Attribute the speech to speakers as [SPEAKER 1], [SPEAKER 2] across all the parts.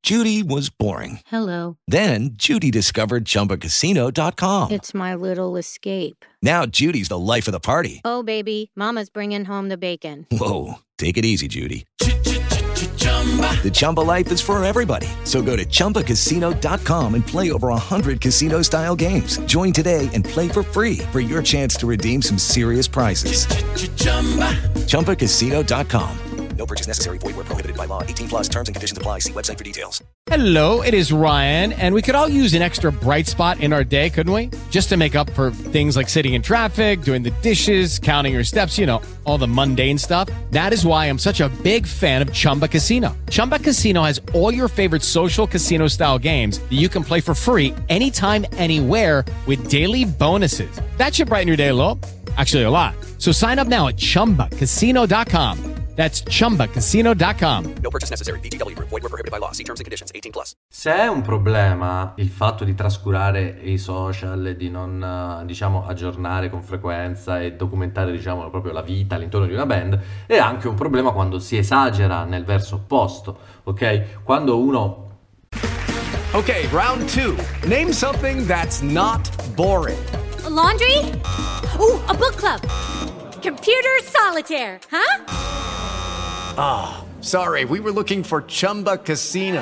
[SPEAKER 1] Judy was boring.
[SPEAKER 2] Hello.
[SPEAKER 1] Then Judy discovered ChumbaCasino.com.
[SPEAKER 2] It's my little escape.
[SPEAKER 1] Now Judy's the life of the party.
[SPEAKER 2] Oh, baby, mama's bringing home the bacon.
[SPEAKER 1] Whoa, take it easy, Judy. The Chumba life is for everybody. So go to ChumbaCasino.com and play over 100 casino-style games. Join today and play for free for your chance to redeem some serious prizes. ChumbaCasino.com. No purchase necessary. Void where prohibited by law. 18 plus terms and conditions apply. See website for details.
[SPEAKER 3] Hello, it is Ryan, and we could all use an extra bright spot in our day, couldn't we? Just to make up for things like sitting in traffic, doing the dishes, counting your steps, you know, all the mundane stuff. That is why I'm such a big fan of Chumba Casino. Chumba Casino has all your favorite social casino-style games that you can play for free anytime, anywhere with daily bonuses. That should brighten your day a little. Actually, a lot. So sign up now at ChumbaCasino.com. That's ChumbaCasino.com.
[SPEAKER 1] No purchase necessary. VGW Group. Void where prohibited by law. See terms and conditions. 18 plus.
[SPEAKER 4] Se è un problema il fatto di trascurare i social e di non, diciamo, aggiornare con frequenza e documentare, diciamo, proprio la vita all'intorno di una band, è anche un problema quando si esagera nel verso opposto, ok? Quando uno...
[SPEAKER 5] Okay, round two. Name something that's not boring.
[SPEAKER 6] A laundry? Ooh, a book club. Computer solitaire, huh?
[SPEAKER 5] Ah, sorry, we were looking for Chumba Casino.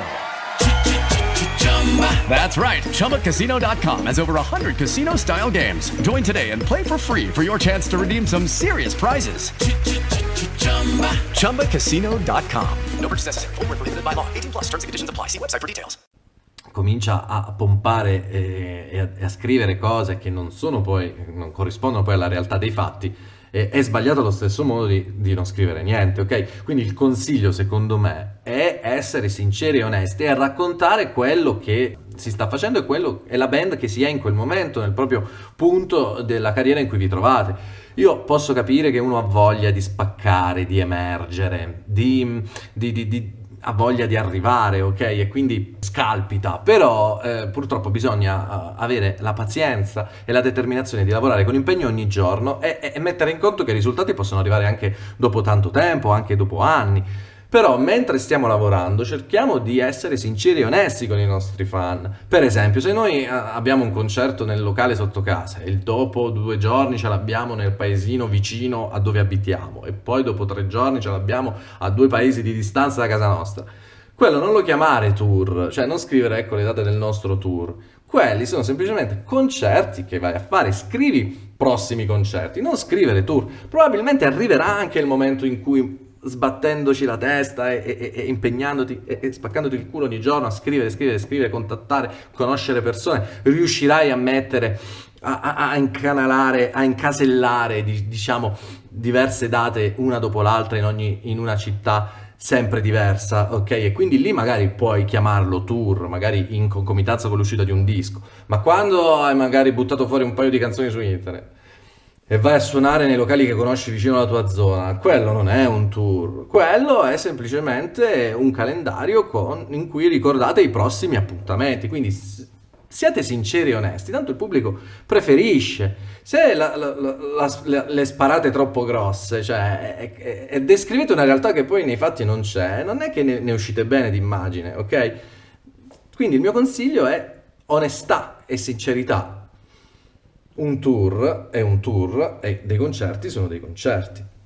[SPEAKER 5] That's right, ChumbaCasino.com has over 100 casino-style games. Join today and play for free for your chance to redeem some serious prizes. ChumbaCasino.com. No purchase necessary. Void where prohibited by law. 18 plus terms and conditions apply. See website for details.
[SPEAKER 4] Comincia a pompare e a scrivere cose che non corrispondono poi alla realtà dei fatti, è sbagliato allo stesso modo di non scrivere niente, ok? Quindi il consiglio, secondo me, è essere sinceri e onesti e raccontare quello che si sta facendo e quello è la band che si è in quel momento, nel proprio punto della carriera in cui vi trovate. Io posso capire che uno ha voglia di spaccare, di emergere, ha voglia di arrivare, ok? E quindi scalpita, però purtroppo bisogna avere la pazienza e la determinazione di lavorare con impegno ogni giorno e mettere in conto che i risultati possono arrivare anche dopo tanto tempo, anche dopo anni. Però mentre stiamo lavorando cerchiamo di essere sinceri e onesti con i nostri fan. Per esempio, se noi abbiamo un concerto nel locale sotto casa e dopo 2 giorni ce l'abbiamo nel paesino vicino a dove abitiamo e poi dopo 3 giorni ce l'abbiamo a 2 paesi di distanza da casa nostra, quello non lo chiamare tour, cioè non scrivere ecco le date del nostro tour. Quelli sono semplicemente concerti che vai a fare. Scrivi prossimi concerti, non scrivere tour. Probabilmente arriverà anche il momento in cui, sbattendoci la testa e impegnandoti e spaccandoti il culo ogni giorno a scrivere, contattare, conoscere persone, riuscirai a mettere, a incanalare, a incasellare, diciamo, diverse date una dopo l'altra in una città sempre diversa, ok? E quindi lì magari puoi chiamarlo tour, magari in concomitanza con l'uscita di un disco, ma quando hai magari buttato fuori un paio di canzoni su internet e vai a suonare nei locali che conosci vicino alla tua zona, quello non è un tour, quello è semplicemente un calendario in cui ricordate i prossimi appuntamenti, quindi siate sinceri e onesti, tanto il pubblico preferisce. Se le sparate troppo grosse, cioè, e descrivete una realtà che poi nei fatti non c'è, non è che ne uscite bene d'immagine, ok? Quindi il mio consiglio è onestà e sincerità. Un tour è un tour e dei concerti sono dei concerti.